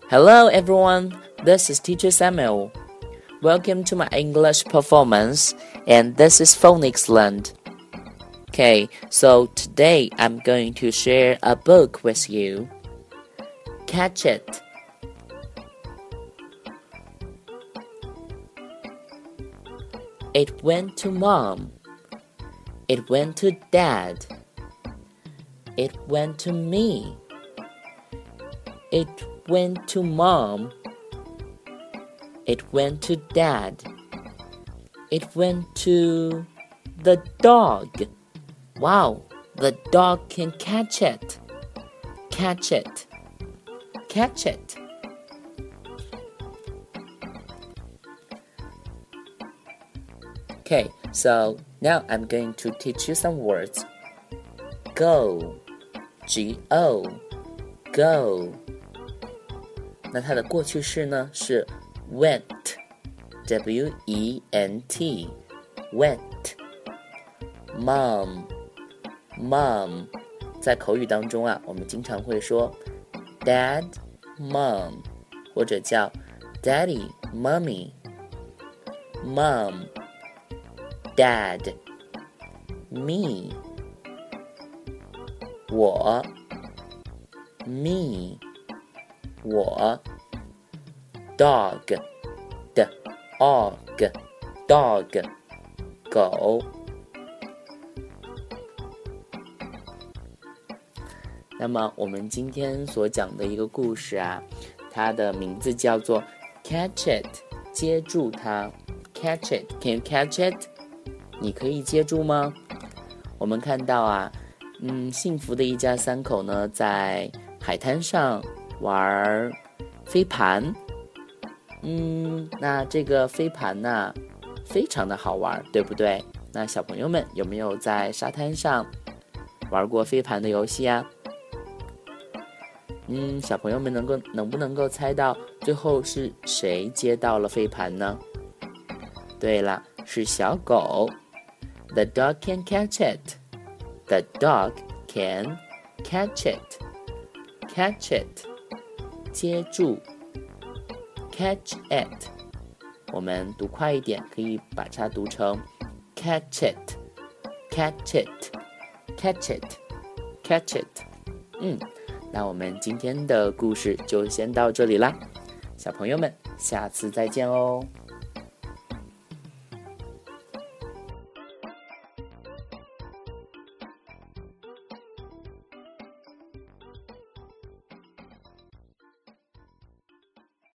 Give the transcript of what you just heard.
Hello everyone, this is Teacher Samuel. Welcome to my English performance, and this is Phonics Learned. Okay, so today I'm going to share a book with you. Catch it. It went to Mom. It went to Dad. It went to me. It went to Mom. It went to Dad. It went to the dog. Wow, the dog can catch it. Catch it. Catch it. Okay, so now I'm going to teach you some words. Go, G-O, go. 那它的过去式呢是 went, W-E-N-T, went. Mom, mom. 在口语当中啊，我们经常会说 Dad, Mom, 或者叫 Daddy, Mommy. Mom, Dad, me. 我 me 我 dog dog 狗。那么我们今天所讲的一个故事啊，它的名字叫做 Catch It， 接住它。 Catch it, can you catch it？ 你可以接住吗？我们看到啊，幸福的一家三口呢，在海滩上玩飞盘。那这个飞盘呢，非常的好玩，对不对？那小朋友们有没有在沙滩上玩过飞盘的游戏啊？小朋友们能不能够猜到最后是谁接到了飞盘呢？对了，是小狗。The dog can catch it. The dog can catch it. Catch it. 接住 Catch it. 我们读快一点，可以把它读成 Catch it. Catch it. Catch it. Catch it. 那我们今天的故事就先到这里啦，小朋友们，下次再见哦。